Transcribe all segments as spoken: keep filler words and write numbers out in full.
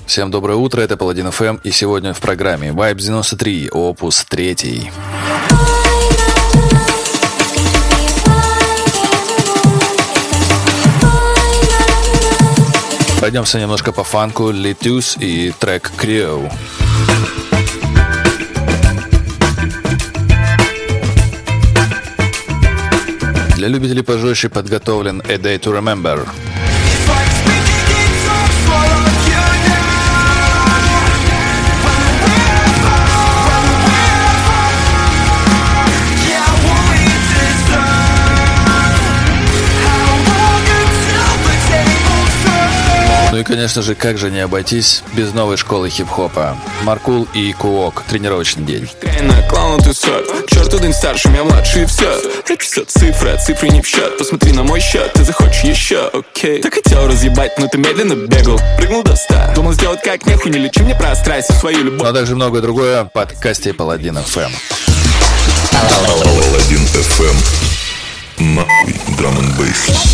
Всем доброе утро, это Паладин эф эм, и сегодня в программе Vibe девяносто три, опус три. Пройдемся немножко по фанку, Литюс и трек Crew. Для любителей пожестче подготовлен A Day to Remember. Ну и, конечно же, как же не обойтись без новой школы хип-хопа. Маркул и Куок. Тренировочный день. Клаун тусот, черт один старше, меня младший, и все. Это все цифры, а цифры не в счет. Посмотри на мой счет, ты захочешь еще, окей. Так хотел разъебать, но ты медленно бегал. Прыгнул до ста, думал сделать как нехуй, не лечи мне про страсть и свою любовь. Ну а также многое другое в подкасте Паладин эф эм. Паладин эф эм. Нахуй драм н бейс.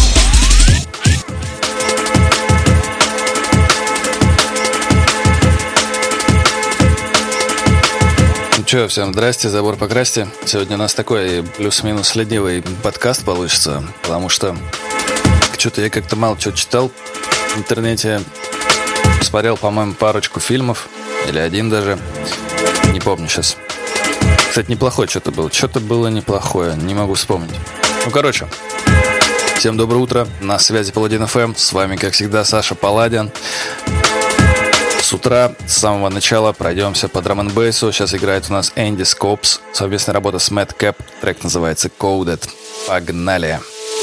Че, всем здрасте, забор покрасьте. Сегодня у нас такой плюс-минус ленивый подкаст получится, потому что что-то я как-то мало чего читал в интернете. Посмотрел, по-моему, парочку фильмов, или один даже, не помню сейчас. Кстати, неплохое что-то было, что-то было неплохое, не могу вспомнить. Ну, короче, всем доброе утро, на связи Паладин эф эм, с вами, как всегда, Саша Паладин. С утра, с самого начала пройдемся по драм-н-бейсу. Сейчас играет у нас Энди Скопс. Совместная работа с Mad Cap. Трек называется Coded. Погнали!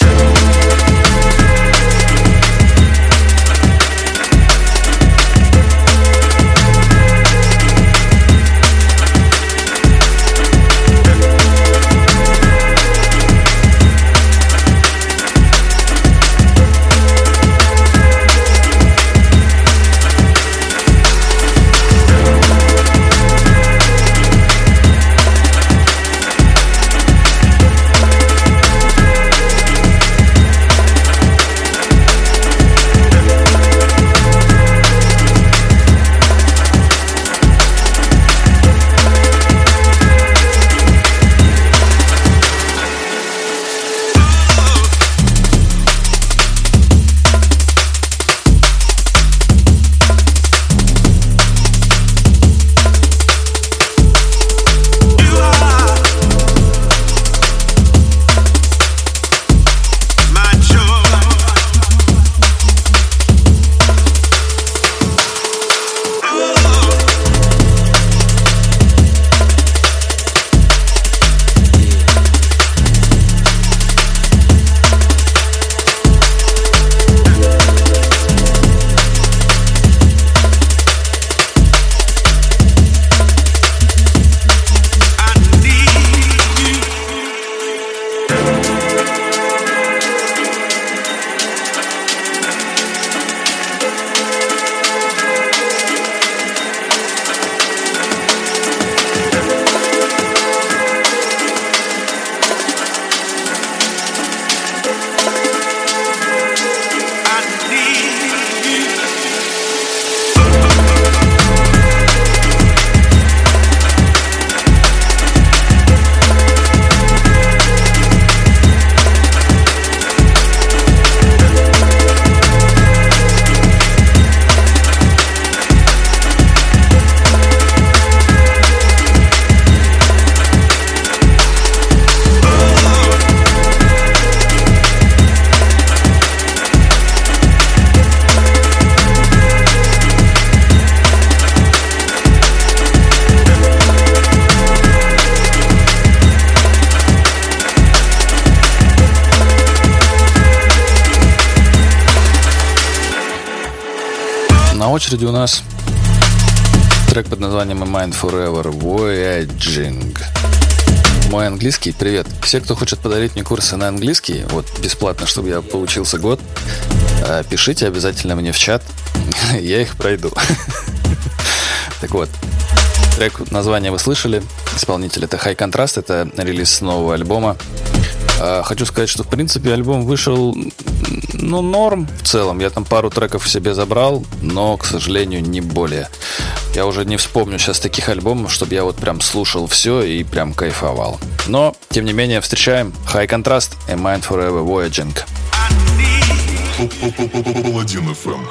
На очереди у нас трек под названием A Mind Forever Voyaging. Мой английский, привет. Все, кто хочет подарить мне курсы на английский, вот бесплатно, чтобы я поучился год, пишите обязательно мне в чат, я их пройду. Так вот, трек, название вы слышали, исполнитель это High Contrast, это релиз нового альбома. Хочу сказать, что в принципе альбом вышел ну, норм в целом. Я там пару треков себе забрал, но, к сожалению, не более. Я уже не вспомню сейчас таких альбомов, чтобы я вот прям слушал все и прям кайфовал. Но, тем не менее, встречаем High Contrast и Mind Forever Voyaging. Паладин эф эм.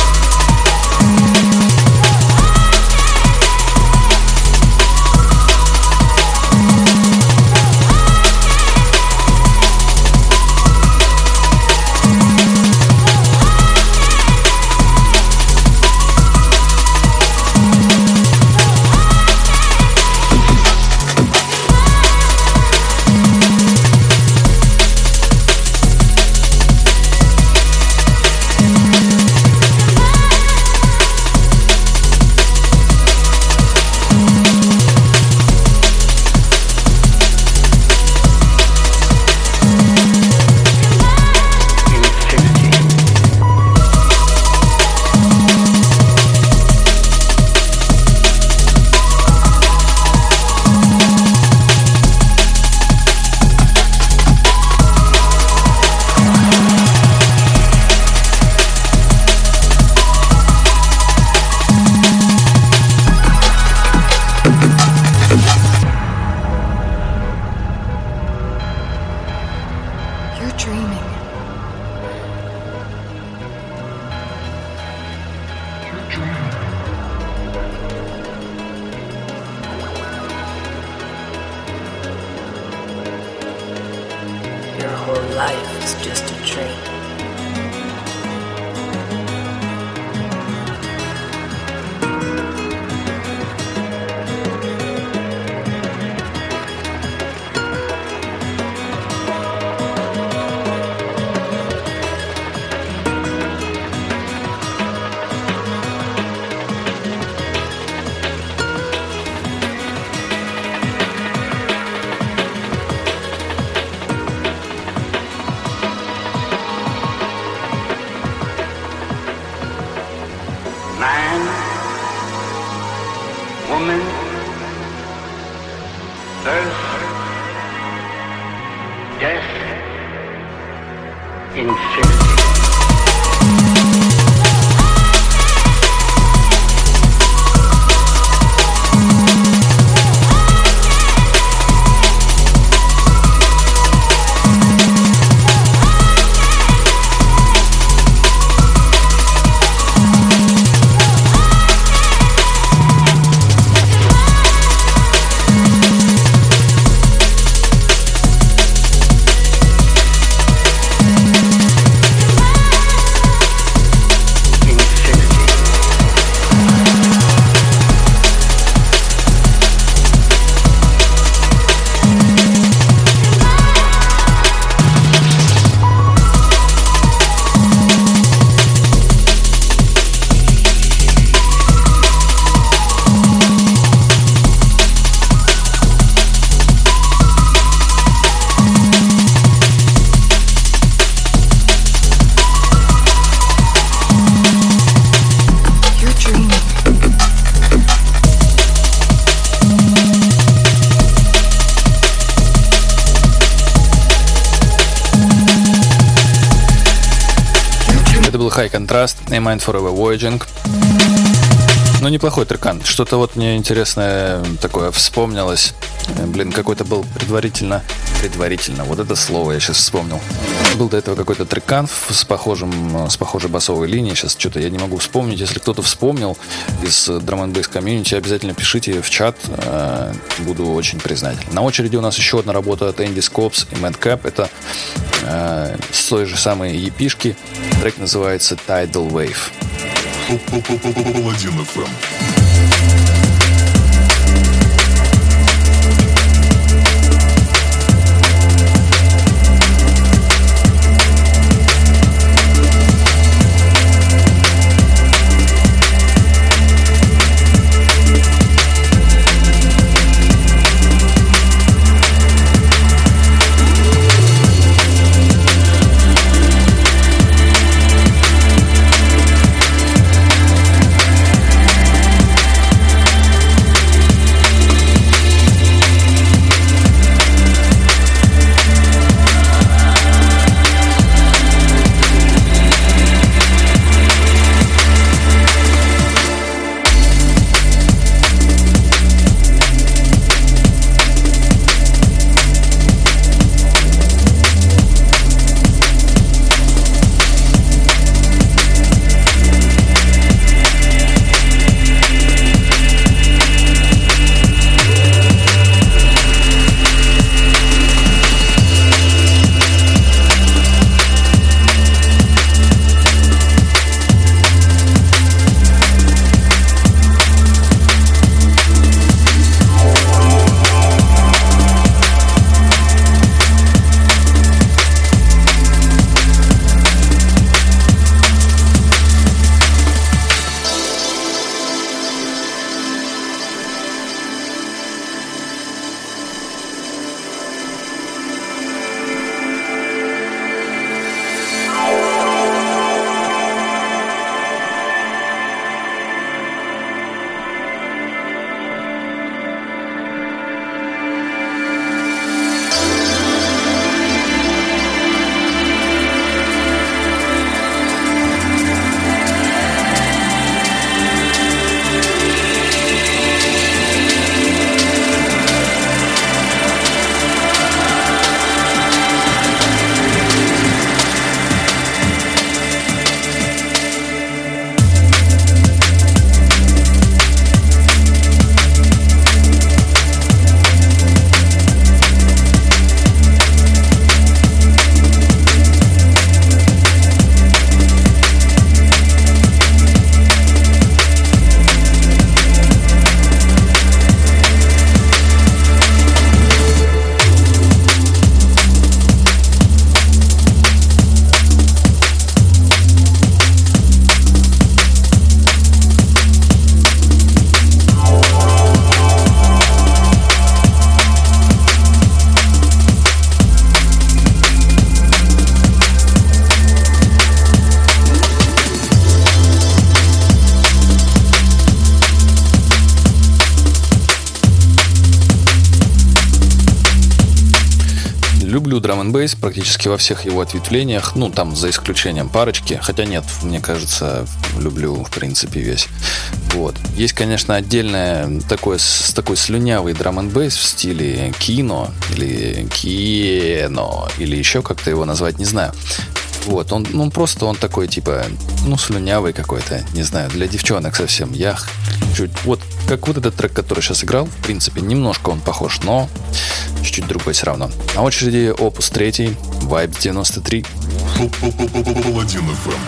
High Contrast и Mind Forever Voyaging. Ну, неплохой трекан. Что-то вот мне интересное такое вспомнилось. Блин, какой-то был предварительно... Предварительно, вот это слово я сейчас вспомнил. Был до этого какой-то трекан с, похожим, с похожей басовой линией. Сейчас что-то я не могу вспомнить. Если кто-то вспомнил из Drum and Bass комьюнити, обязательно пишите в чат. Буду очень признателен. На очереди у нас еще одна работа от Andy Scopes и Madcap. Это э, с той же самой епишки. Трек называется Tidal Wave. Паладин эф эм. люблю драм н бейс практически во всех его ответвлениях, ну, там, за исключением парочки, хотя нет, мне кажется, люблю, в принципе, весь. Вот. Есть, конечно, отдельное такое, с такой слюнявый драм н бейс в стиле кино, или кино, или еще как-то его назвать, не знаю. Вот, он, ну, просто он такой, типа, ну, слюнявый какой-то, не знаю, для девчонок совсем. Я чуть, вот, как вот этот трек, который сейчас играл, в принципе, немножко он похож, но чуть-чуть другой все равно. На очереди опус три, Vibes девяносто три. Паладин эф эм.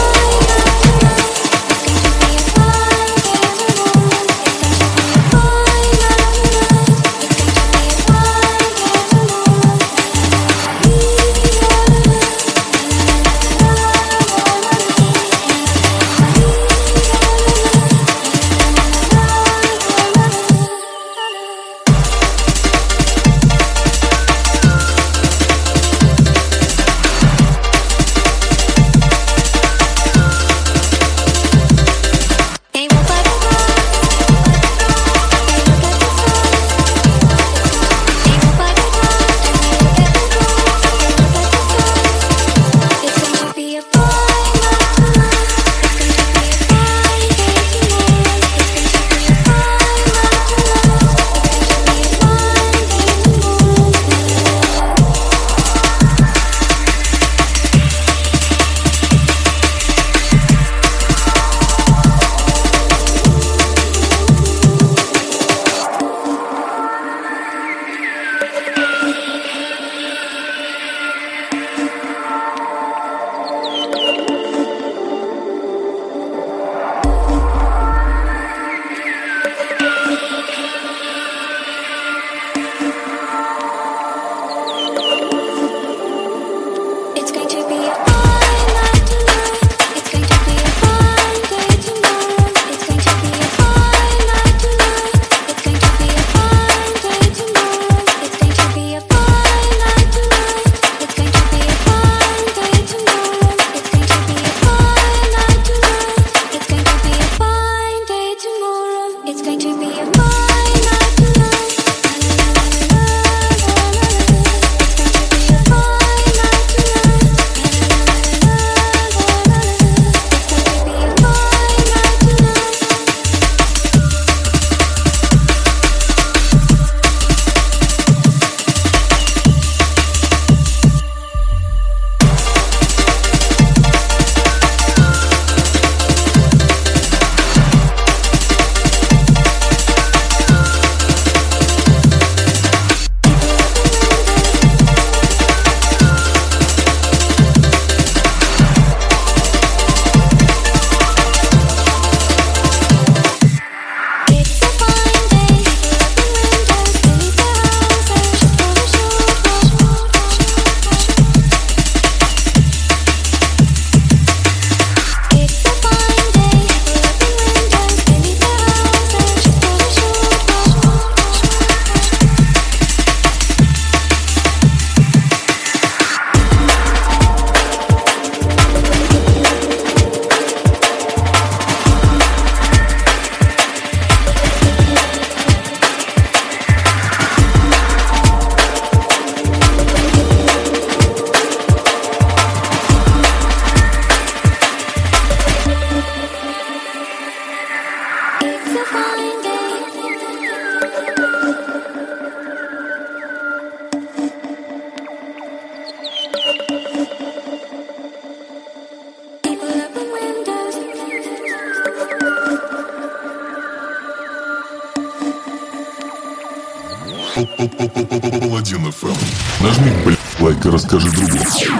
Паладин эф эм. Нажми, блядь, лайк и расскажи другу.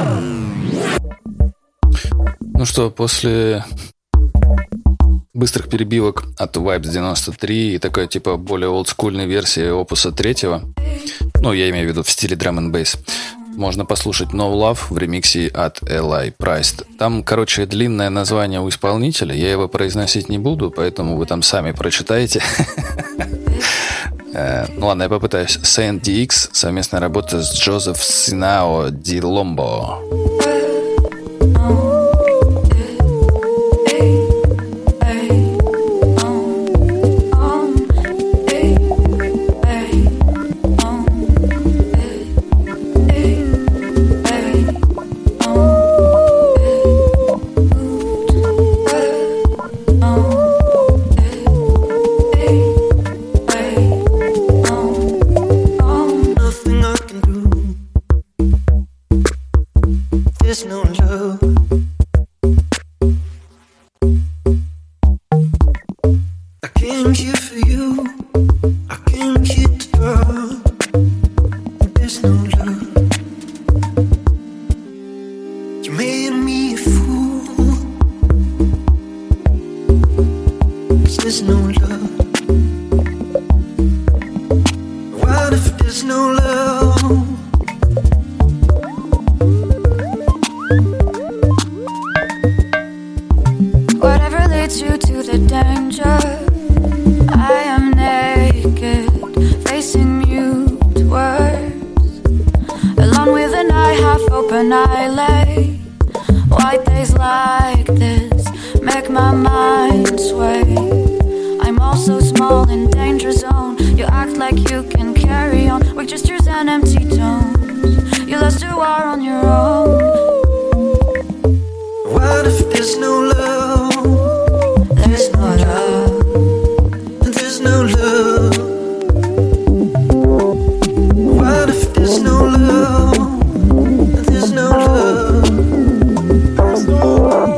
Ну что, после быстрых перебивок от Vibes девяносто три и такой типа более олдскульной версии опуса третьего, ну, я имею в виду в стиле драм н бейс, можно послушать No Love в ремиксе от Eli Priced. Там, короче, длинное название у исполнителя, я его произносить не буду, поэтому вы там сами прочитаете. Ну ладно, я попытаюсь. Saint ди икс, совместная работа с Джозеф Синао Ди Ломбо. Hey came here for you. I came here to draw. There's no love. You made me a fool. 'Cause there's no love. What if there's no love? Whatever leads you to the danger, I am naked, facing mute words. Alone with an eye half open, I lay. White days like this make my mind sway. I'm also small in danger zone. You act like you can carry on with gestures and empty tones. You lost your war on your own. What if there's no love? There's no love. There's no love. What if there's no love? There's no love. There's no love.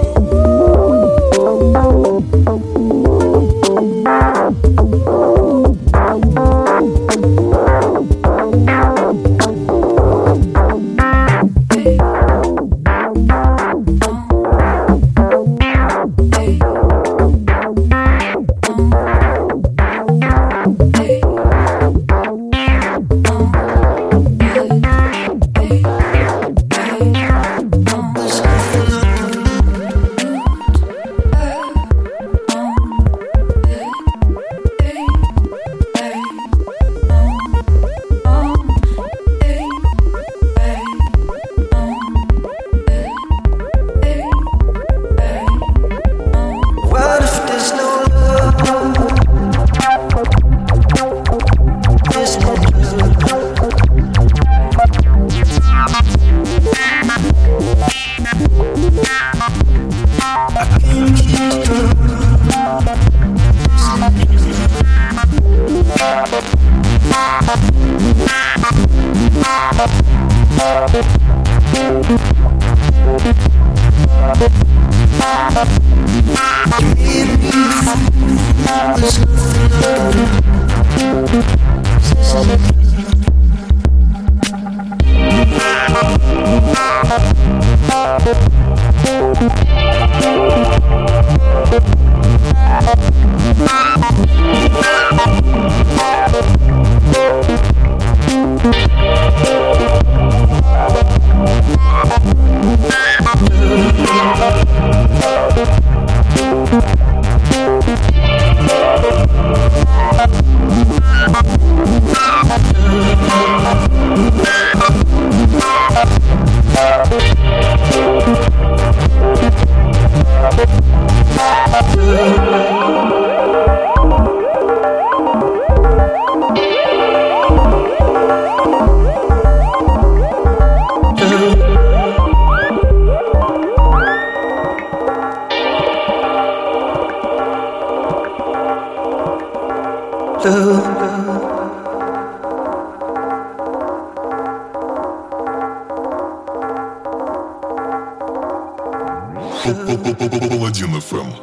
Паладин эф эм.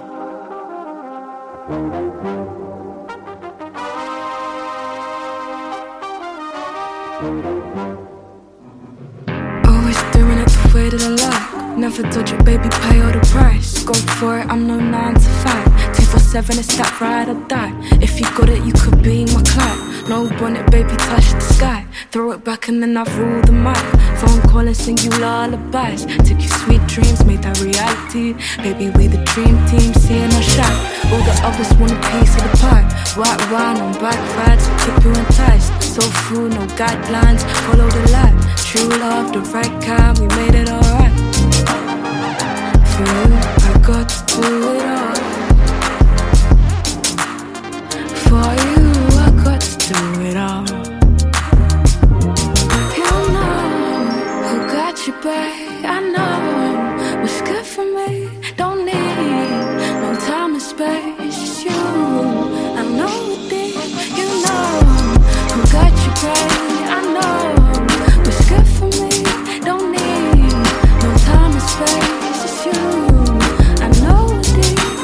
Always doing it the way that I like. Never dodge it, baby, pay all the price. Go for it, I'm no nine to five. Two four seven, it's that ride or die. If you got it, you could be my client. No bonnet, baby, touch the sky. Throw it back and then I rule the mic. Phone call and sing you lullabies. Took you sweet dreams, made that reality. Baby, we the dream team, seeing our shine. All the others want a piece of the pie. White wine on backfire to keep you enticed. So full, no guidelines, follow the light. True love, the right kind, we made it alright. For you, I got to do it all. For you, I got to do it all. You know who got you, babe. I know what's good for me. Don't need no time and space. It's you, I know it. You know who got you, babe. I know what's good for me. Don't need no time and space. It's you, I know it.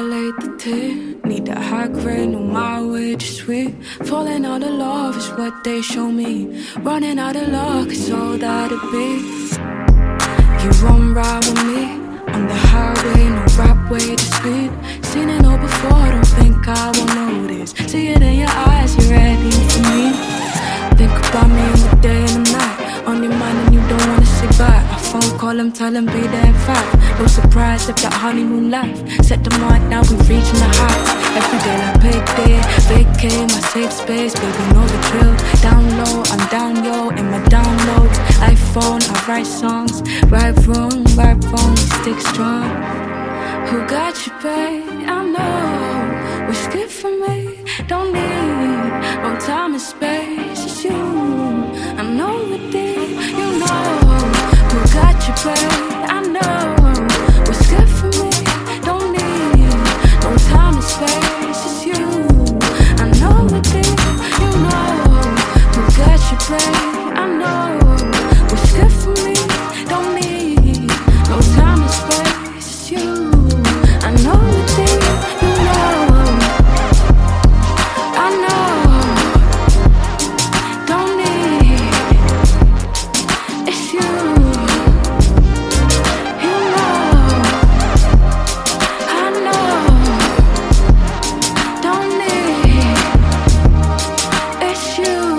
violate the tip. Need that high grade, no my way, just sweet. Falling out of love is what they show me. Running out of luck is all that it be. You won't ride with me on the highway, no rap way to speed. Seen it all before, don't think I won't notice. See it in your eyes, you're ready for me. Think about me in the day and the night. On your mind and you don't wanna say bye. I phone call him, tell him be there in five. No surprise if that honeymoon life. Set the mark, now we reaching the heights. Every day like payday, vacay, my safe space. Baby, know the drill. Down low, I'm down yo, in my downloads. iPhone, I write songs. Right wrong, right wrong, we stick strong. Who got you, babe? I know what's good for me. Don't need no time and space. It's you, I know it deep. You know who got you, babe. I know what's good for me. Don't need no time and space. It's you, I know it deep. You know who got you, babe. I know what's good for me. Don't need no time and space. It's you, I know it deep. You know, I know. Don't need. It's you. You know, I know. Don't need. It's you.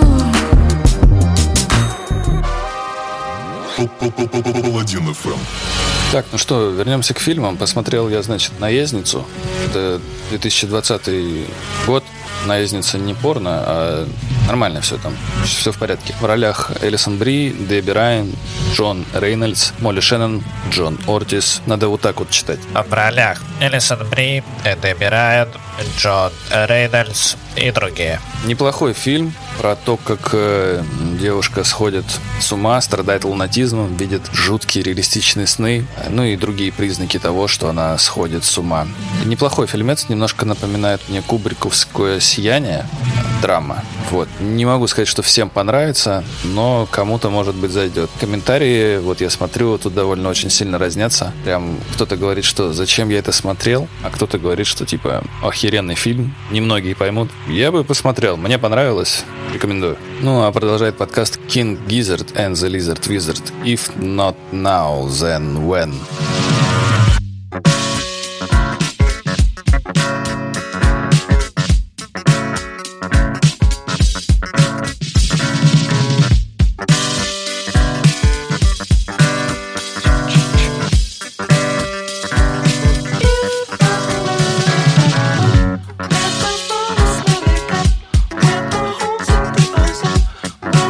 Паладин эф эм. Так, ну что, вернемся к фильмам. Посмотрел я, значит, «Наездницу». Это две тысячи двадцатый год. «Наездница» не порно, а нормально все там. Все в порядке. В ролях Элисон Бри, Дебби Райан, Джон Рейнольдс, Молли Шеннон, Джон Ортис. Надо вот так вот читать. А в ролях Элисон Бри, Дебби Райан, Джон Рейнольдс и другие. Неплохой фильм про то, как э, девушка сходит с ума, страдает лунатизмом, видит жуткие реалистичные сны, ну и другие признаки того, что она сходит с ума. Неплохой фильмец, немножко напоминает мне кубриковское «Сияние», драма. Вот. Не могу сказать, что всем понравится, но кому-то, может быть, зайдет. Комментарии, вот я смотрю, тут довольно очень сильно разнятся. Прям кто-то говорит, что зачем я это смотрел, а кто-то говорит, что типа охеренный фильм. Немногие поймут. Я бы посмотрел, мне понравилось. Рекомендую. Ну, а продолжает подкаст King Gizzard and the Lizard Wizard. If not now, then when?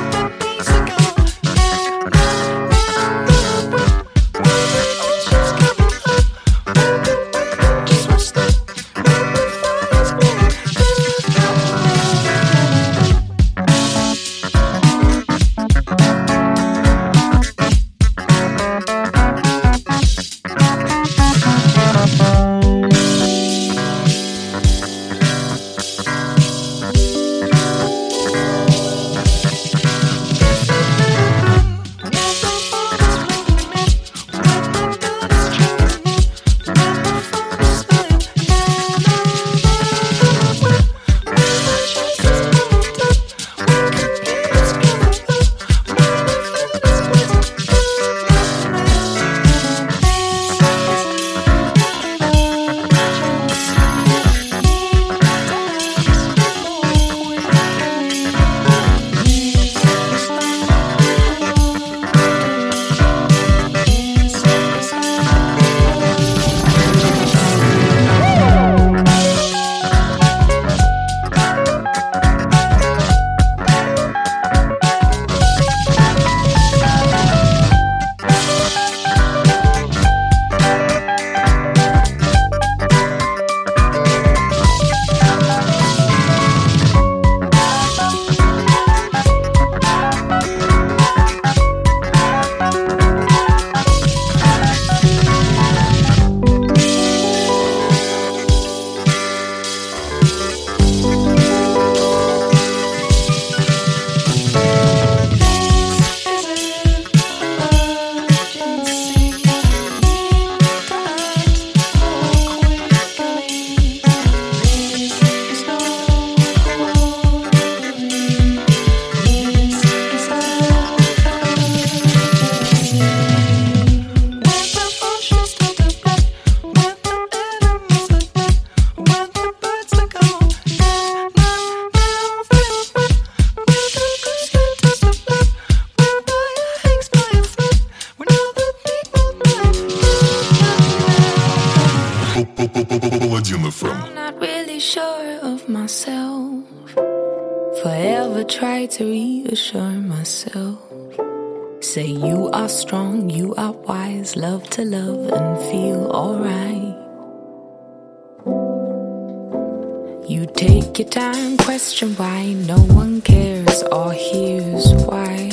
Just go. Паладин эф эм. I'm not really sure of myself. Forever try to reassure myself. Say you are strong, you are wise, love to love and feel alright. You take your time, question why no one cares or hears why.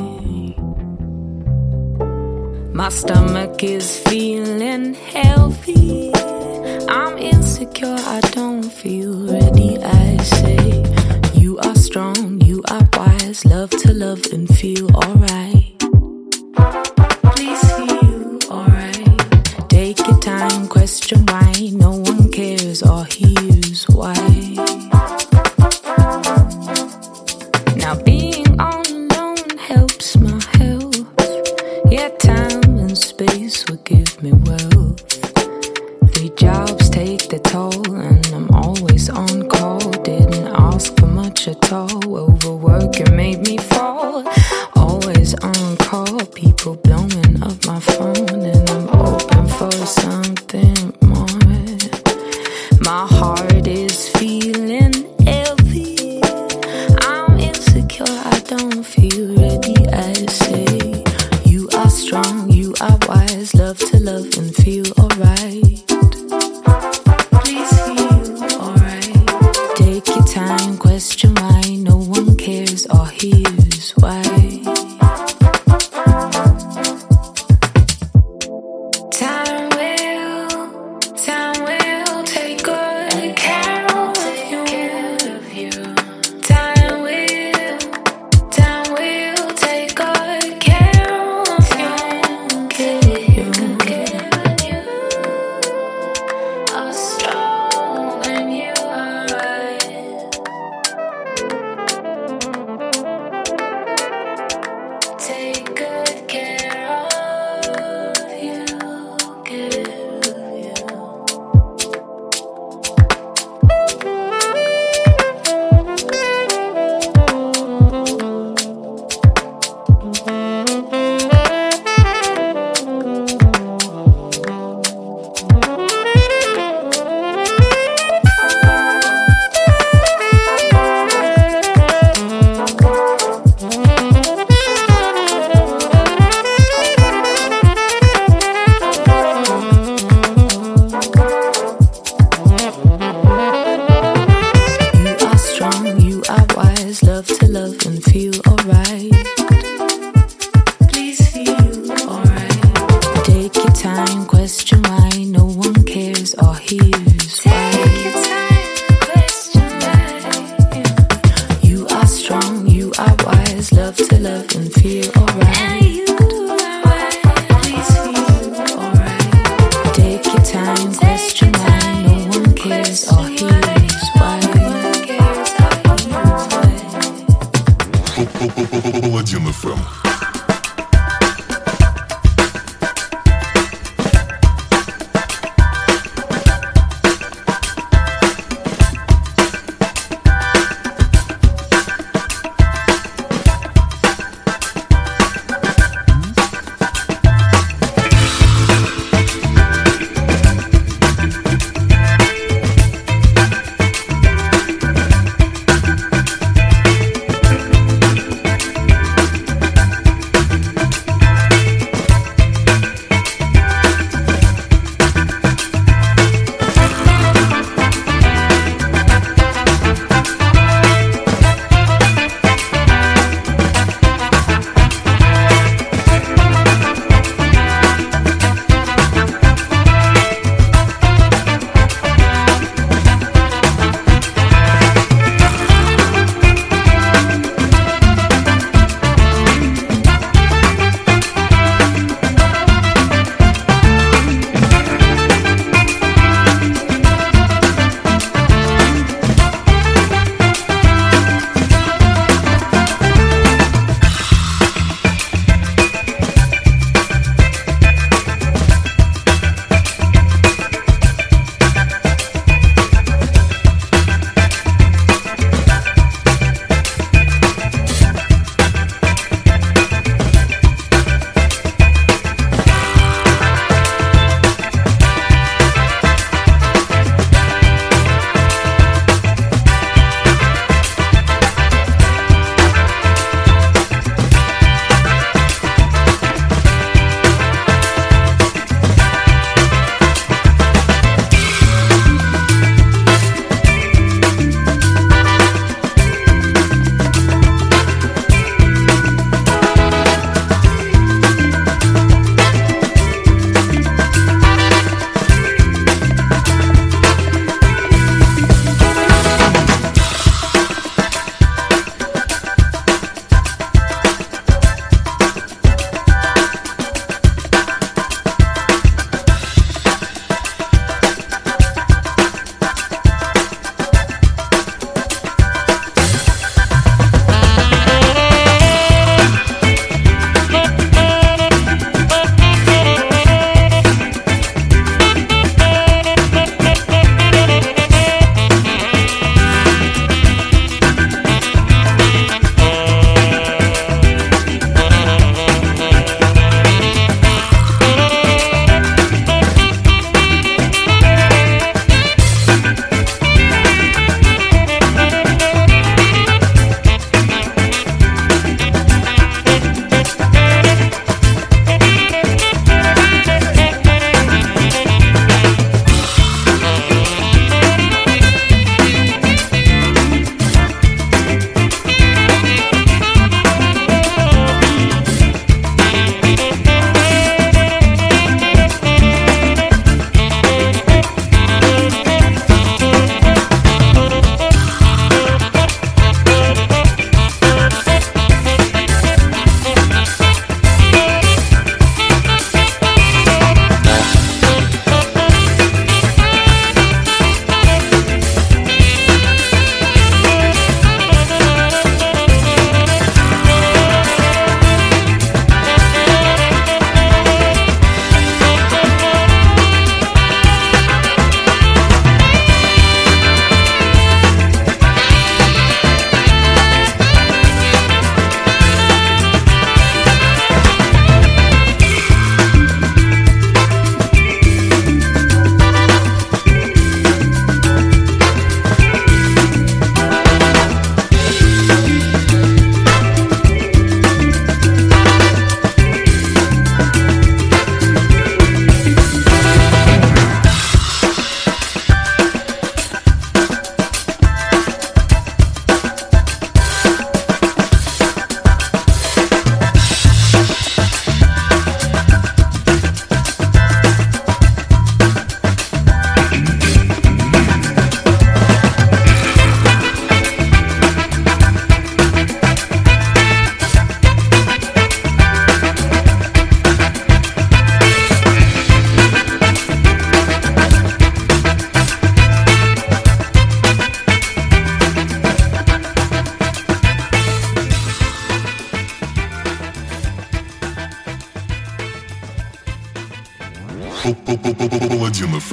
My stomach is feeling healthy. I'm insecure, I don't feel ready. I say you are strong, you are wise, love to love and feel alright. Please feel alright. Take your time, question why no one cares or hears why. Now being all alone helps my health. Yeah, time and space will give me wealth. Three jobs take the toll and I'm always on call. Didn't ask for much at all. Overworking made me fall. Always on call. People blowing up my phone and I'm open for something more. My heart is feeling heavy. I'm insecure, I don't feel ready. I say you are strong, you are wise, love to love and feel alright. Please feel alright. Take your time, question why no one cares or hears why. Time will, time will take good care of you. Time will, time will take good care of you. You are strong and you are right. Take good care of you, give you. You are strong, you are wise, love to love and feel alright. Please feel alright. Take your time, question why no one cares or hears why. Take your time, question why. You are strong, you are wise, love to love and feel alright. Please feel alright. Take your time, question why no one cares or hears why. Паладин эф эм.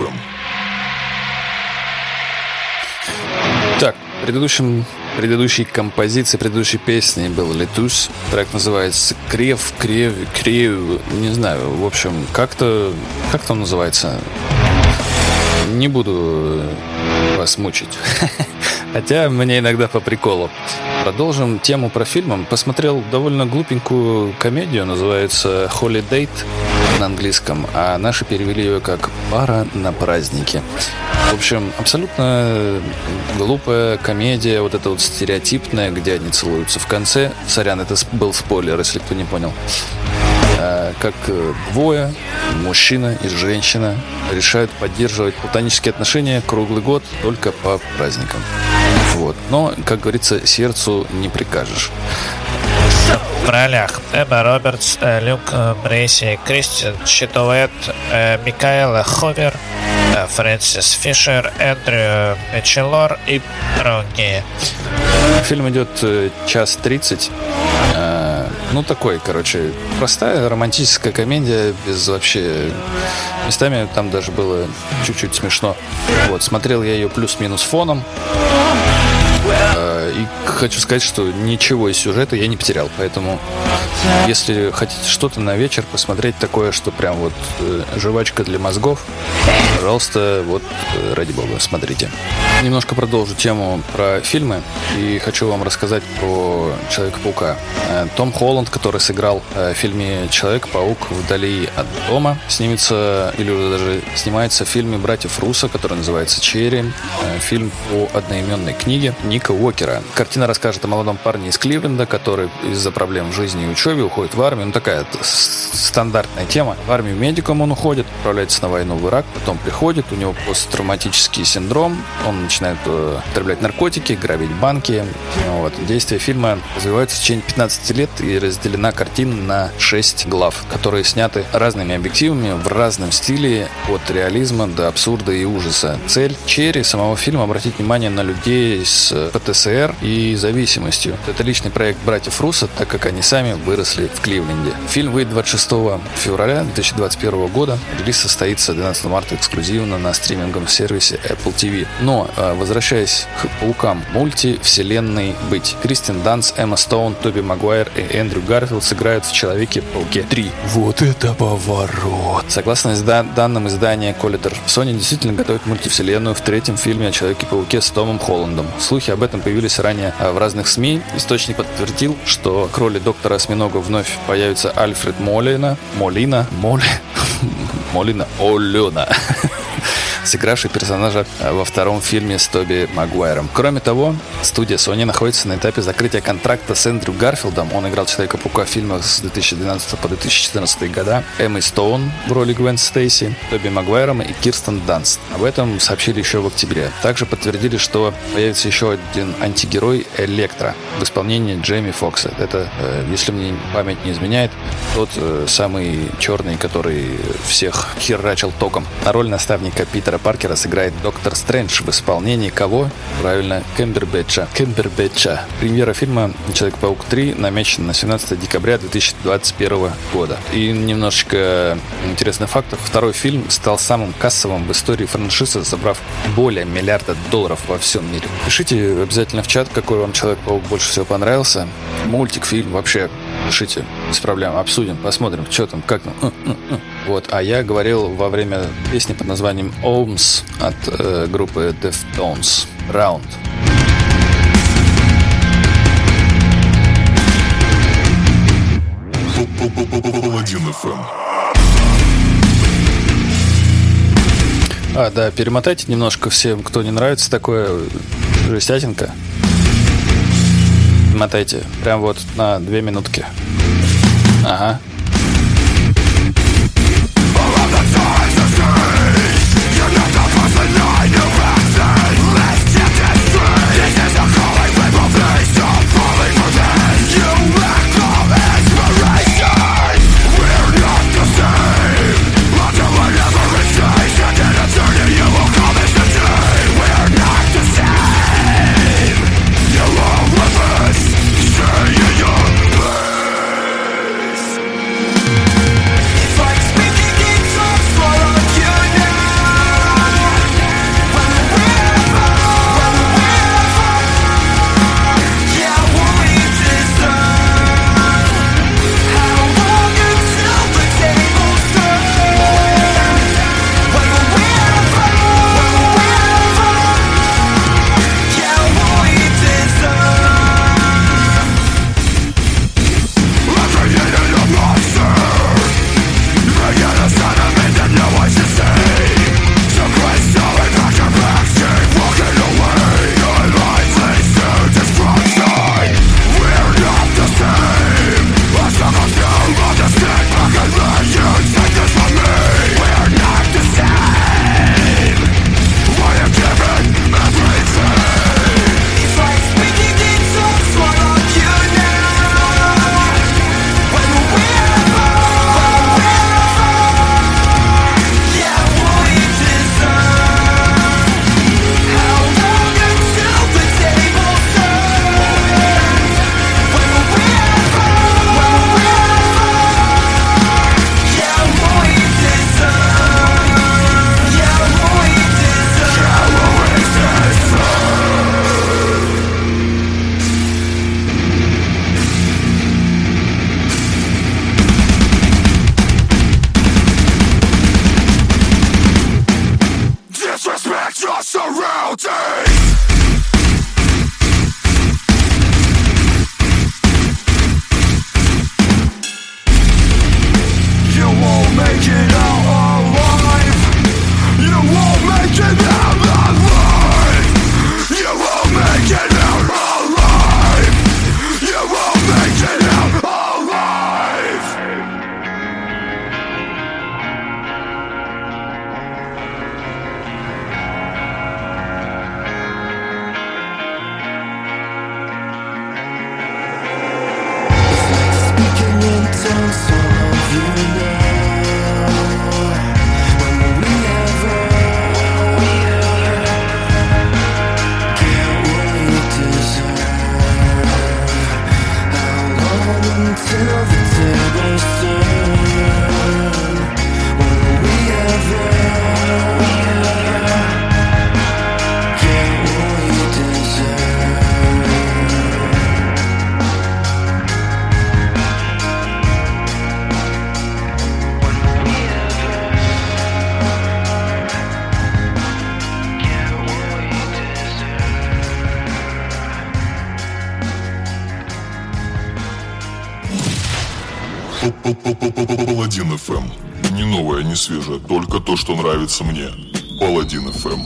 эф эм. Так, предыдущим, предыдущей композиции, предыдущей песни был «Летусь». Трек называется «Крев», «Крев», «Крев», не знаю, в общем, как-то, как там называется? Не буду вас мучить. Хотя мне иногда по приколу. Продолжим тему про фильм. Посмотрел довольно глупенькую комедию, называется «Holiday» на английском, а наши перевели ее как «Пара на празднике». В общем, абсолютно глупая комедия, вот эта вот стереотипная, где они целуются в конце. Сорян, это был спойлер, если кто не понял. Как двое, мужчина и женщина, решают поддерживать платонические отношения круглый год только по праздникам. Вот. Но, как говорится, сердцу не прикажешь. В ролях Эмма Робертс, Люк Брейси, Кристин Читуэт, Микаэла Хувер, Фрэнсис Фишер, Эндрю Мечелор и другие. Фильм идет час тридцать. Ну, такой, короче, простая романтическая комедия, без вообще... Местами там даже было чуть-чуть смешно. Вот, смотрел я ее плюс-минус фоном. И хочу сказать, что ничего из сюжета я не потерял. Поэтому, если хотите что-то на вечер посмотреть такое, что прям вот э, жвачка для мозгов, пожалуйста, вот э, ради бога, смотрите. Немножко продолжу тему про фильмы. И хочу вам рассказать про Человека-паука. Э, Том Холланд, который сыграл э, в фильме «Человек-паук вдали от дома», снимется, или уже даже снимается в фильме «Братьев Руссо», который называется «Черри». Э, фильм по одноименной книге Ника Уокера. Картина расскажет о молодом парне из Кливленда, который из-за проблем в жизни и учебе уходит в армию. Ну, такая стандартная тема. В армию медиком он уходит, отправляется на войну в Ирак, потом приходит, у него посттравматический синдром, он начинает э, употреблять наркотики, грабить банки. Вот. Действие фильма развивается в течение пятнадцати лет и разделена картина на шесть глав, которые сняты разными объективами в разном стиле, от реализма до абсурда и ужаса. Цель Черри самого фильма — обратить внимание на людей с пэ тэ эс эр и зависимостью. Это личный проект братьев Руссо, так как они сами выросли в Кливленде. Фильм выйдет двадцать шестого февраля две тысячи двадцать первого года. Релиз состоится двенадцатого марта эксклюзивно на стриминговом сервисе Apple ти ви. Но, возвращаясь к паукам, мультивселенной быть. Кристин Данст, Эмма Стоун, Тоби Магуайр и Эндрю Гарфилд сыграют в Человеке-пауке три. Вот это поворот! Согласно изда- данным издания Collider, Sony действительно готовит мультивселенную в третьем фильме о Человеке-пауке с Томом Холландом. Слухи об этом появились ранее в разных СМИ. Источник подтвердил, что к роли доктора Осьминога вновь появится Альфред Молина. Молина? Моли... Молина? Олена. Сыгравший персонажа во втором фильме с Тоби Магуайром. Кроме того, студия Sony находится на этапе закрытия контракта с Эндрю Гарфилдом. Он играл Человека-паука в фильмах с две тысячи двенадцатого по две тысячи четырнадцатый года, Эммой Стоун в роли Гвен Стейси, Тоби Магуайром и Кирстен Данст. Об этом сообщили еще в октябре. Также подтвердили, что появится еще один антигерой — Электро в исполнении Джейми Фокса. Это, если мне память не изменяет, тот самый черный, который всех херачил током. На роль наставника Питера Паркера сыграет доктор Стрэндж в исполнении кого? Правильно, Кэмбербэтча. Кэмбербэтча. Премьера фильма «Человек-паук три» намечена на семнадцатого декабря две тысячи двадцать первого года. И немножечко интересных фактов. Второй фильм стал самым кассовым в истории франшизы, собрав более миллиарда долларов во всем мире. Пишите обязательно в чат, какой вам Человек-паук больше всего понравился. Мультик, фильм, вообще пишите, без проблем, обсудим, посмотрим, что там, как там. Вот, а я говорил во время песни под названием «Ohms» от э, группы Deftones. Round. один эф эм. А, да, перемотайте немножко всем, кто не нравится такое жестятинка. Мотайте. Прям вот на две минутки. Ага. Паладин эф эм. Не новое, не свежее, только то, что нравится мне. Паладин эф эм.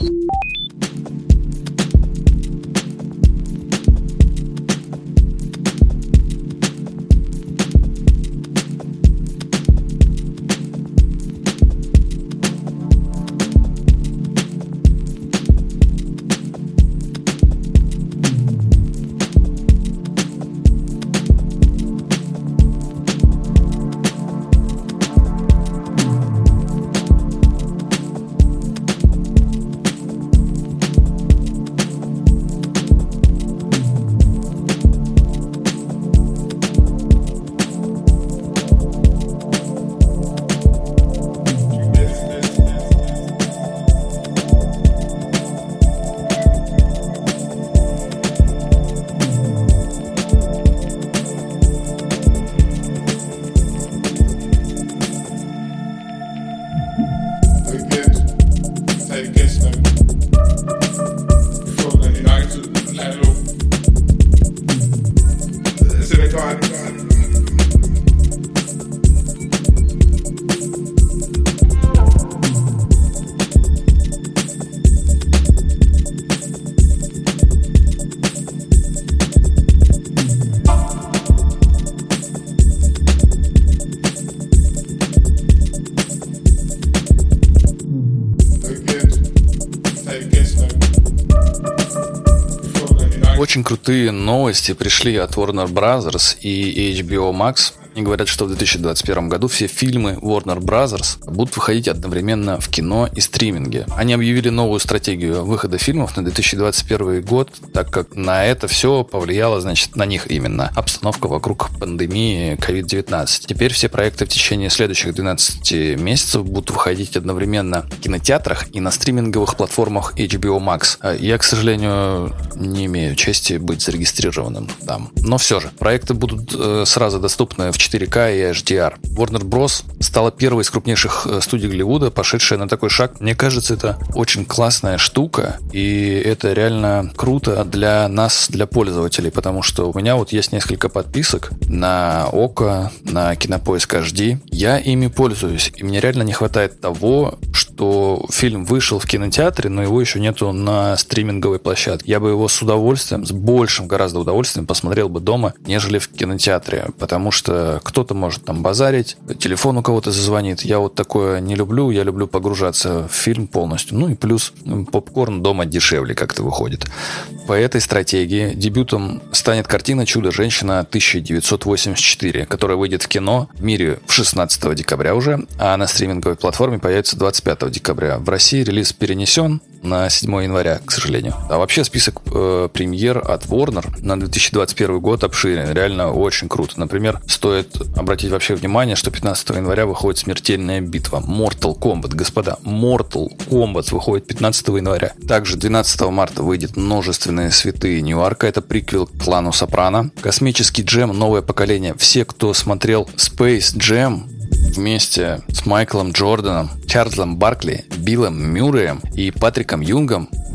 Очень крутые новости пришли от Warner Brothers и эйч би о Max. Они говорят, что в две тысячи двадцать первом году все фильмы Warner Brothers будут выходить одновременно в кино и стриминге. Они объявили новую стратегию выхода фильмов на две тысячи двадцать первый год, так как на это все повлияло, значит, на них именно обстановка вокруг пандемии ковид девятнадцать. Теперь все проекты в течение следующих двенадцати месяцев будут выходить одновременно в кинотеатрах и на стриминговых платформах эйч би о Max. Я, к сожалению, не имею чести быть зарегистрированным там. Но все же, проекты будут э, сразу доступны в четыре ка и эйч ди ар. Warner Bros. Стала первой из крупнейших студий Голливуда, пошедшая на такой шаг. Мне кажется, это очень классная штука, и это реально круто для нас, для пользователей, потому что у меня вот есть несколько подписок на Око, на Кинопоиск эйч ди. Я ими пользуюсь, и мне реально не хватает того, что фильм вышел в кинотеатре, но его еще нету на стриминговой площадке. Я бы его с удовольствием, с большим гораздо удовольствием посмотрел бы дома, нежели в кинотеатре, потому что кто-то может там базарить, телефон у кого-то зазвонит. Я вот такое не люблю, я люблю погружаться в фильм полностью. Ну и плюс попкорн дома дешевле как-то выходит. По этой стратегии дебютом станет картина «Чудо-женщина» тысяча девятьсот восемьдесят четыре, которая выйдет в кино в мире шестнадцатого декабря уже, а на стриминговой платформе появится двадцать пятого декабря. В России релиз перенесен на седьмого января, к сожалению. А вообще список э, премьер от Warner на две тысячи двадцать первый год обширен. Реально очень круто. Например, стоит обратить вообще внимание, что пятнадцатого января выходит «Смертельная битва». Mortal Kombat, господа. Mortal Kombat выходит пятнадцатого января. Также двенадцатого марта выйдет «Множественные святые Ньюарка». Это приквел к «Клану Сопрано». «Космический джем. Новое поколение». Все, кто смотрел Space Jam, вместе с Майклом Джорданом, Чарльзом Баркли, Биллом Мюрреем и Патриком Юнгом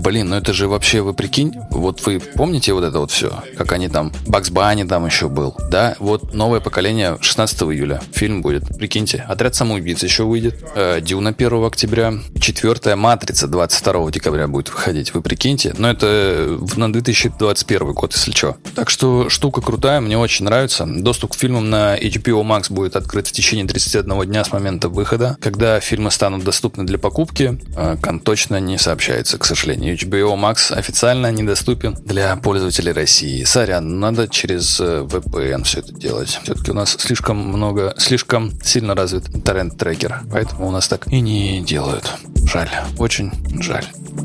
Блин, ну это же вообще, вы прикинь, вот вы помните вот это вот все, как они там, Бакс Банни там еще был, да? Вот новое поколение шестнадцатого июля фильм будет, прикиньте. Отряд самоубийц еще выйдет, э, Дюна первого октября, четвертая Матрица двадцать второго декабря будет выходить, вы прикиньте. Но это на две тысячи двадцать первый год, если что. Так что штука крутая, мне очень нравится. Доступ к фильмам на эйч би о Max будет открыт в течение тридцати одного дня с момента выхода. Когда фильмы станут доступны для покупки, э, точно не сообщается, к сожалению. эйч би о Max официально недоступен для пользователей России. Сорян, надо через ви пи эн все это делать. Все-таки у нас слишком много, слишком сильно развит торрент-трекер, поэтому у нас так и не делают. Жаль, очень жаль.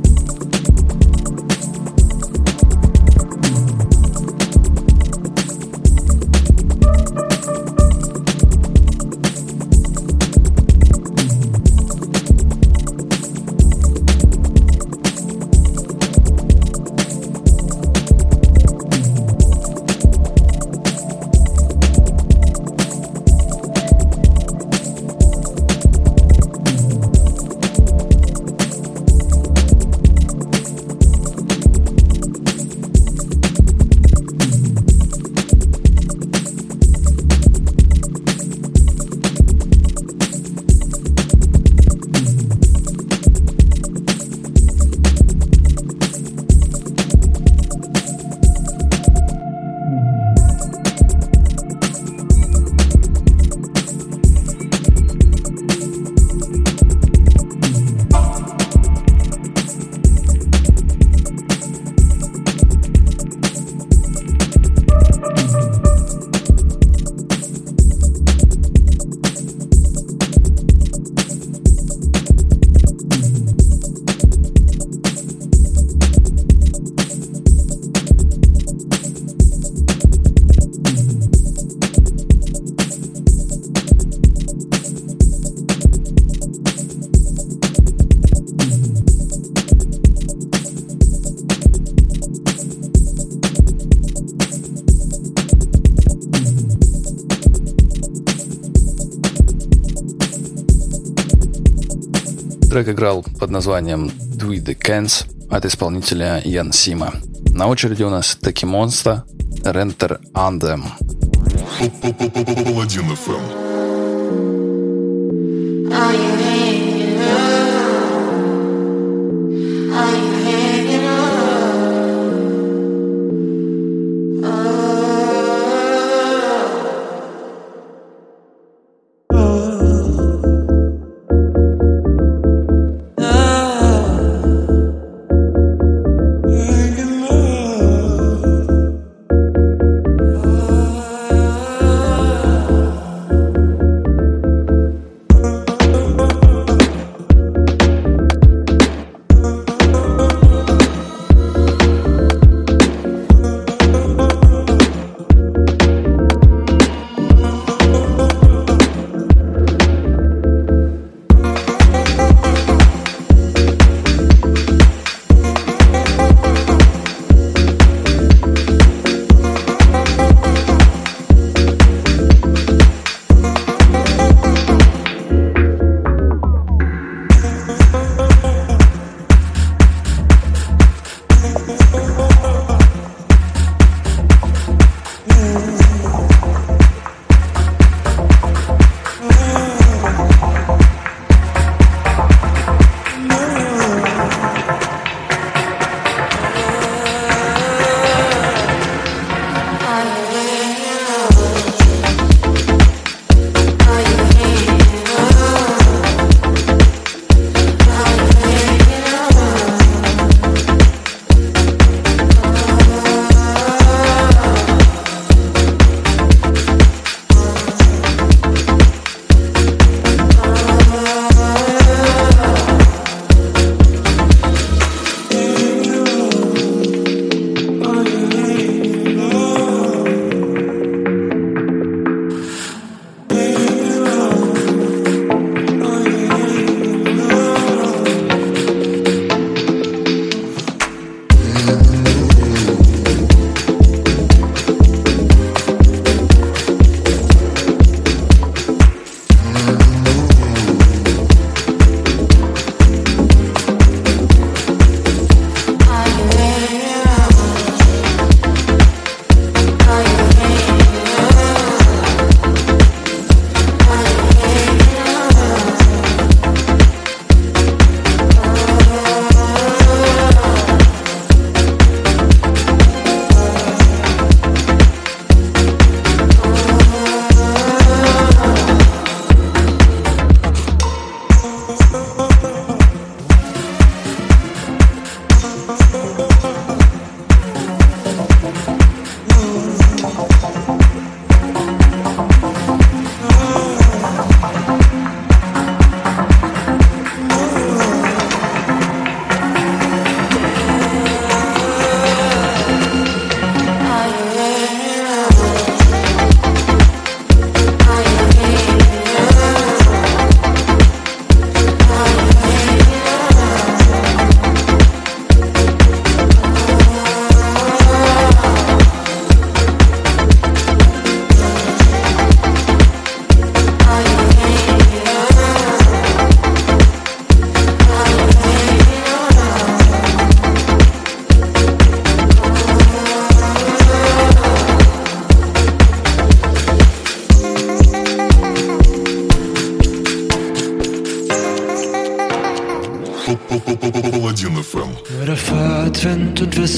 Трек играл под названием Do the Cans от исполнителя Ян Сима. На очереди у нас Таки Монста, Renter Anthem. Паладин эф эм.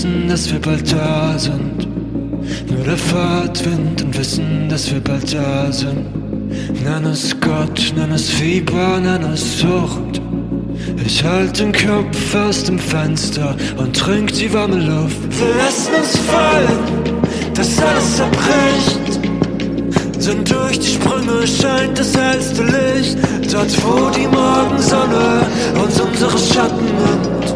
wissen, dass wir bald da sind. Nur der Fahrtwind und wissen, dass wir bald da sind. Nenn es Gott, nenn es Fieber, nenn es Sucht. Ich halt den Kopf aus dem Fenster und trink die warme Luft. Wir lassen uns fallen, dass alles zerbricht. Denn durch die Sprünge scheint das hellste Licht. Dort wo die Morgensonne uns unsere Schatten nimmt.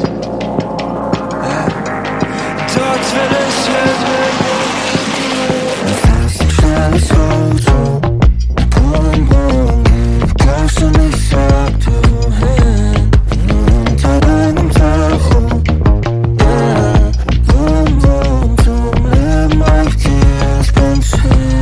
Dort will ich hin. Fast ein schnelles Auto. Boom, boom, glaubst du nicht, sag du hin. Unter deinem Tacho. Yeah. Boom, boom, zum Leben auf dir ist Benzin.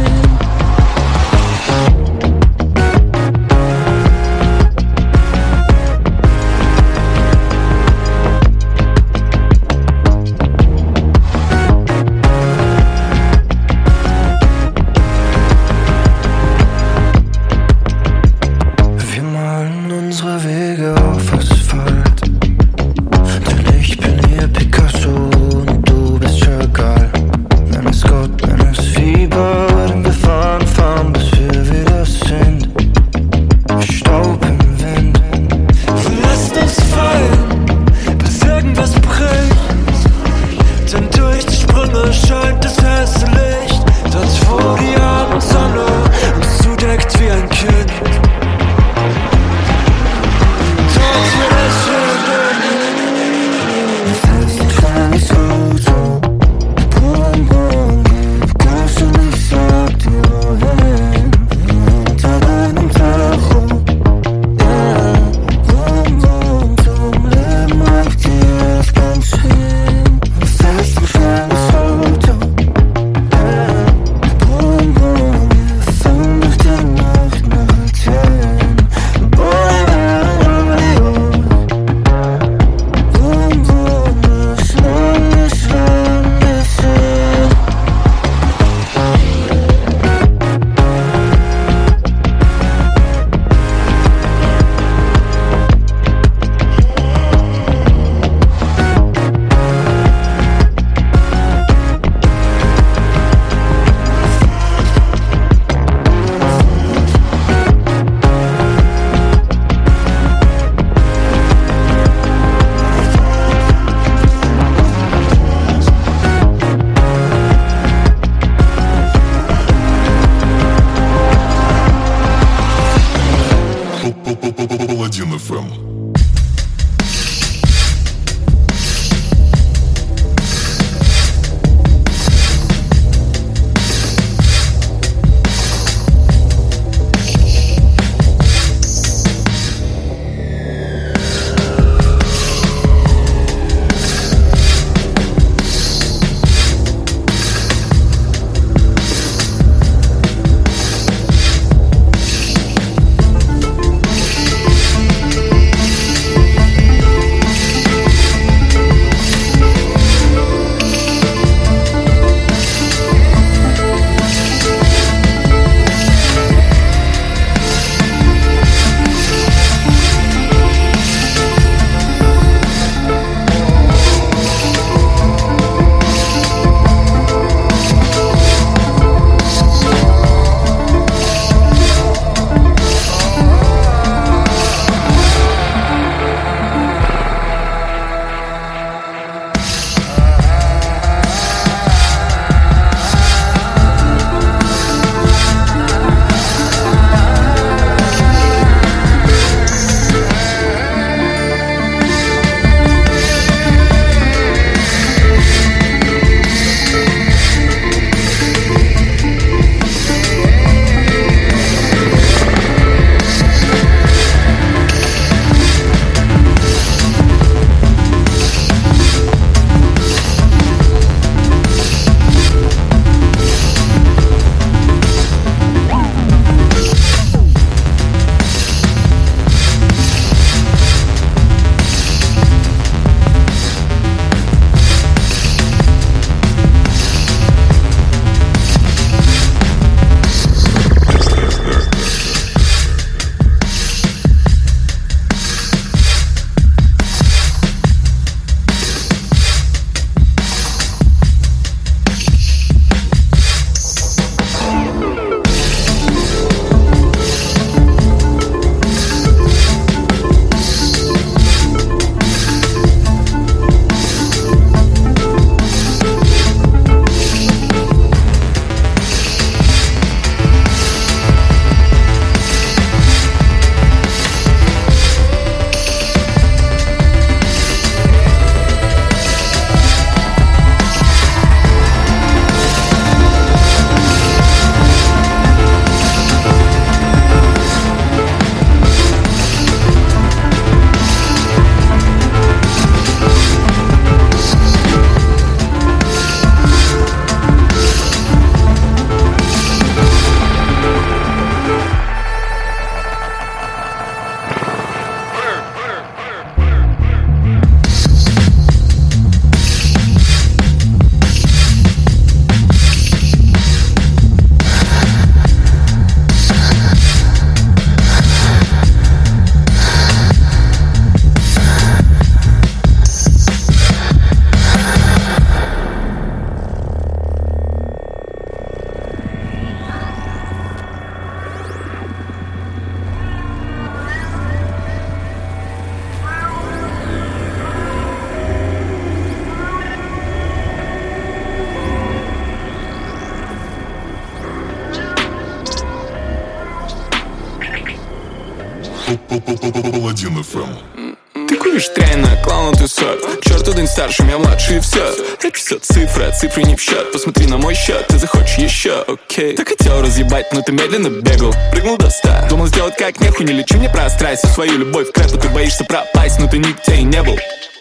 Паладин эф эм. Ты куришь тряйно, клоун, ты сор. К черту день старше, я младше и все. Это все цифры, а цифры не в счет. Посмотри на мой счет, ты захочешь еще, окей. Так хотел разъебать, но ты медленно бегал. Прыгнул до ста, думал сделать как нехуй. Не лечи мне прострайся, свою любовь в крэпу. Ты боишься пропасть, но ты нигде и не был.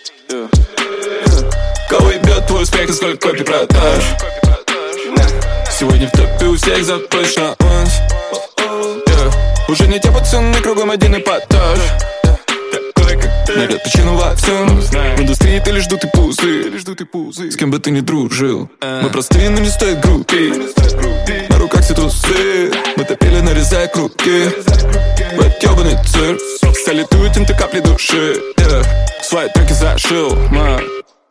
Кого ебет твой успех и сколько копий продаж? Сегодня в топе у всех за точно ланс. Уже не те пацаны, кругом один эпатаж. Найдет причину во всем. В индустрии ты лишь дут и пузы. С кем бы ты ни дружил. Мы простые, но не стоит группи. На руках все трусы. Мы топили, нарезая круги. В этот ёбаный цирк салютуют им ты капли души. Свои треки зашил, мам.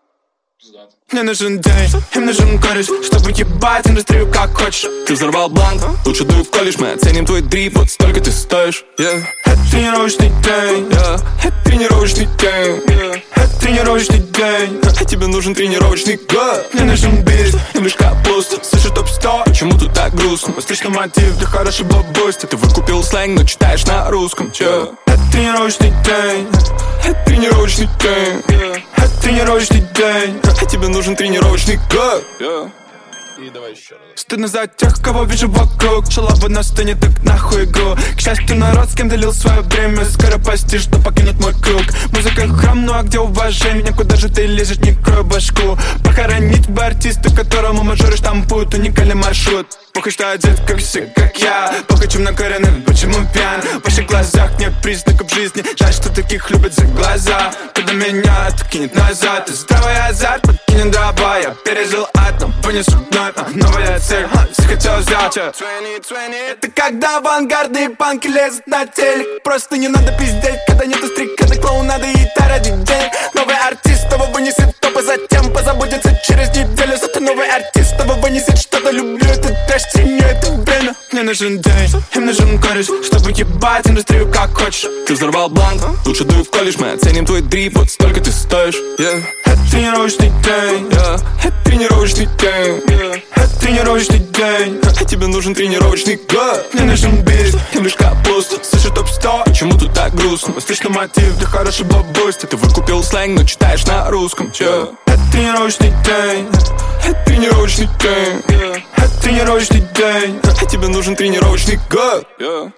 Мне нужен день, им нужен кореш, чтобы ебать индустрию как хочешь. Ты взорвал бланк, лучше дуй в колледж. Мы оценим твой дрип, вот столько ты стоишь, yeah. Это тренировочный день, yeah. Это тренировочный день, yeah. Это тренировочный день. А тебе нужен тренировочный год. Мне нужен бит, им лишь капуст. Слышу топ сто, почему тут так грустно? Встречный мотив для хорошего бусти. Ты выкупил сленг, но читаешь на русском, чё? Это тренировочный день, это тренировочный день, yeah. Это тренировочный день. А тебе нужен тренировочный год, yeah. И давай еще раз. Стыдно за тех, кого вижу вокруг. Шалава на сцене, так нахуй игру. К счастью, народ, с кем делил свое время, скоро постишь, что покинет мой круг. Музыка храм, ну а где уважение? Куда же ты лезешь, не крой башку. Похоронить бы артиста, которому мажоры штампуют уникальный маршрут. Похуй, что одет, как все, как я. Похуй, чем накоренный, почему пьян. В ваших глазах нет признаков жизни. Жаль, что таких любят за глаза. Когда меня откинет назад, и здравый азарт подкинет дрова. Я пережил ад, но вынесу вновь. Новая цель, захотел взять. Это когда авангардные панки лезут на телек. Просто не надо пиздеть, когда нету стрикады, клоунады и та ради денег. Новый артист того вынесет топ, а затем позабудется через неделю. Зато новый артист того вынесет что-то. Люблю этот трэш, ценю это время. Мне нужен день, им нужен кореш, чтобы ебать индустрию как хочешь. Ты взорвал бланк, лучше дуй в колледж. Мы оценим твой дрип, вот столько ты стоишь, yeah. Это тренировочный день, yeah. Это тренировочный день, yeah. Это тренировочный день. А тебе нужен тренировочный год. Мне нужен бит, им лишь капуст. Слышу топ сто, почему тут так грустно? Встречный мотив для хорошего бусти. Ты выкупил сленг, но читаешь на русском, чё? Это тренировочный день, это тренировочный день, yeah. Это тренировочный день. А тебе нужен тренировочный год, yeah.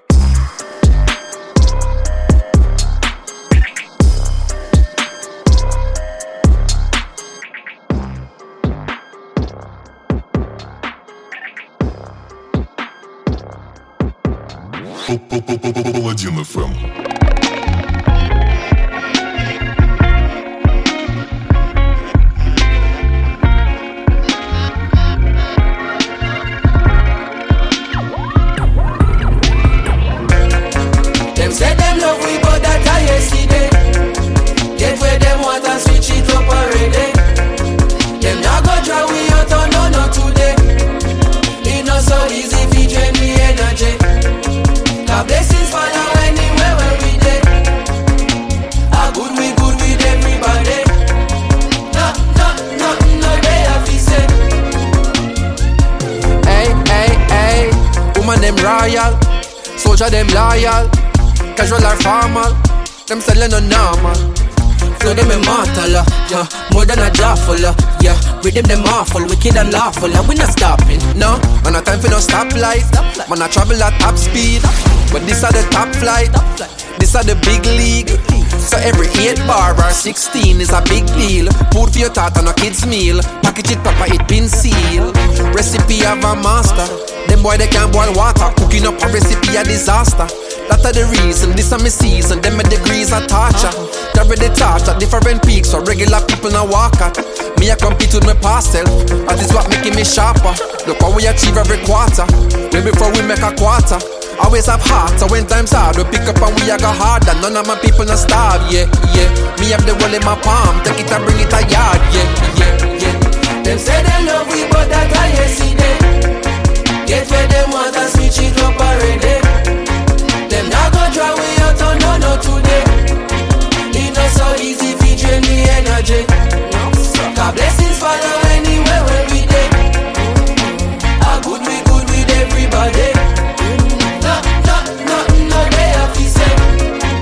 Паладин эф эм. Them say them love we, but that I yesterday. Get where them want and switch it up already. Them not go try we out on no no today. It not so easy to drain me energy. Our blessings follow anywhere where we dey. A good we good with everybody. No, no, no, no day I feel say. Hey, hey, hey. Woman them royal, soldier them loyal. Casual or formal, them selling no normal. Flow them immortal, uh, yeah. More than a jawful, uh, yeah. Rhythm them awful, wicked and lawful, uh, we not stopping, no. Man a time for no stoplight, man a travel at top speed. But this are the top flight, this are the big league. So every eight bar or sixteen is a big deal. Food for your thought and a kid's meal. Package it proper, it been sealed. Recipe of a master. Them boy they can't boil water. Cooking up a recipe a disaster. That are the reason, this are my season. Them my degrees are torture. Carry the torch at different peaks so regular people now walk at. Me I compete with my past self. That is what making me sharper. Look how we achieve every quarter. Way before we make a quarter. Always have heart, so when times hard, we pick up and we a go harder. None of my people not starve, yeah, yeah. Me have the world in my palm, take it and bring it a yard, yeah, yeah, yeah. Them say them love we, but that I yesterday. Get where them want and switch it up already. Them not go try we out on no no today. It not so easy to drain the energy. God blessings follow anywhere where we dey. A good we good with everybody. No, no, no, no day I feel say.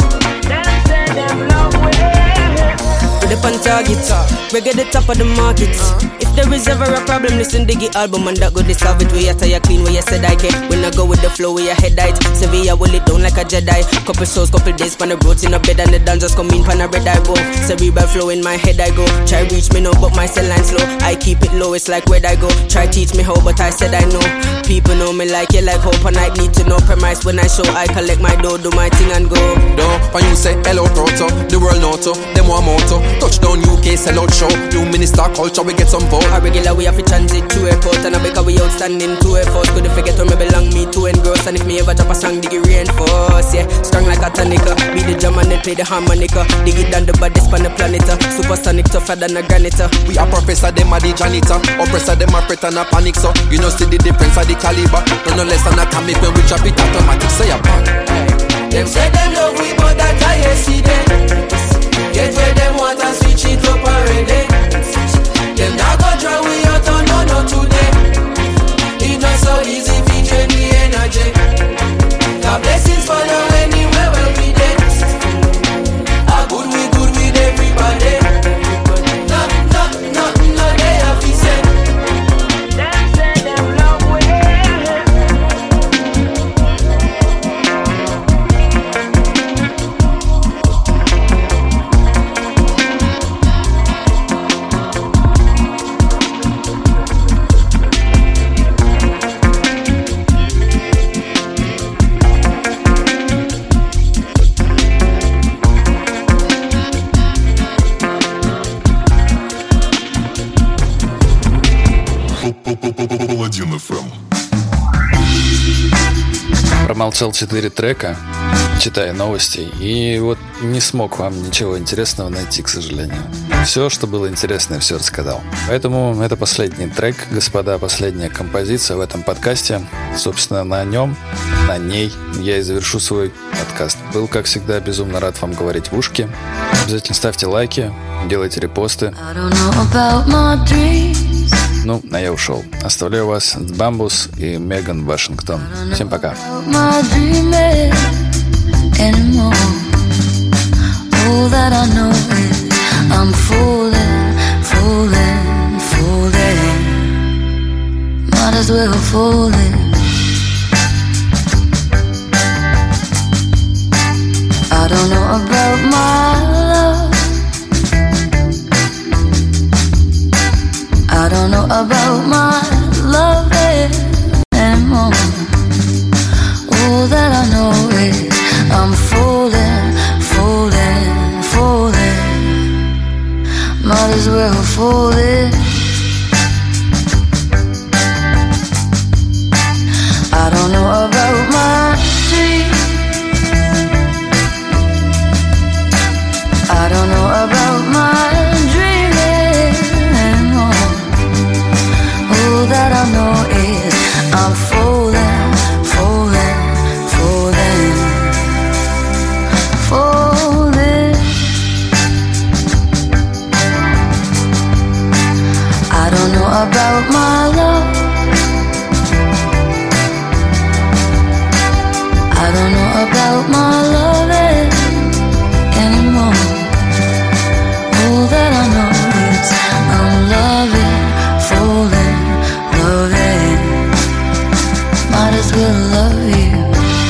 target. Reggae the top of the market. If there is ever a problem, listen to the album and that go to solve it. We attire clean, where you said I can. When I go with the flow, where your head died. Sevilla will it down like a Jedi. Couple souls, couple days, pan the roads in a bed and the dancers come in, pan a red eye go. Cerebral flow in my head I go. Try reach me now, but my cell line slow. I keep it low, it's like where I go. Try teach me how, but I said I know. People know me like you like hope, and I need to know premise when I show. I collect my dough, do my thing and go. Don't when you say hello proto, the world noto, them one moto. Touchdown U K, sell out show. New minister culture, we get some vote. A regular we have to transit to airport, and I because we outstanding to a force. Couldn't forget where me belong, me to engross. And if me ever drop a song, dig it reinforce. Yeah, strong like a tonica. Be the drum and then play the harmonica. Dig it down the baddest on the planet. Supersonic tougher than a granite. We are professor, them are the janitor. Oppressor, them are fret and a panic. So you know see the difference of the caliber. No no less than atomic when we drop it automatic. Say a bang. Them say them love we, but that I yesterday. Get where them want and switch it up already. Them not go draw we out on no no today. It not so easy to drain the energy. God blessings follow anywhere where we dey. A good we good with everybody. Not not not no they have to say. Them say them love we. Паладин эф эм. Промолчал четыре трека, читая новости, и вот не смог вам ничего интересного найти, к сожалению. Все, что было интересное, все рассказал. Поэтому это последний трек, господа, последняя композиция в этом подкасте. Собственно, на нем, на ней я и завершу свой подкаст. Был, как всегда, безумно рад вам говорить в ушки. Обязательно ставьте лайки, делайте репосты. Ну, а я ушел. Оставляю вас с Бамбус и Меган Вашингтон. Всем пока. I don't know about my love anymore. All that I know is I'm falling, falling, falling. Might as well fall in. I don't know about my dreams. I don't know about my that I know is I'm falling, falling, falling, falling. I don't know about my love. I don't know about my loving anymore. All that I know is I'm loving, falling, loving. Might as well love you.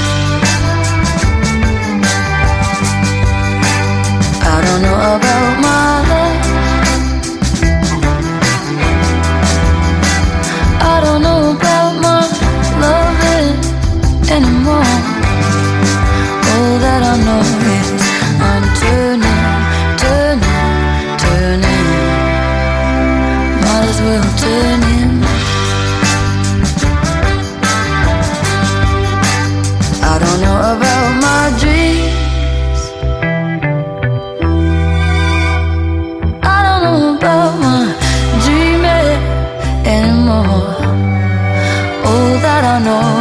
I don't know about my love. I don't know about my loving anymore. All that I know is I'm turning, turning, turning. Might as well turn in. I don't know about my dreams. I don't know about my dreaming anymore. All that I know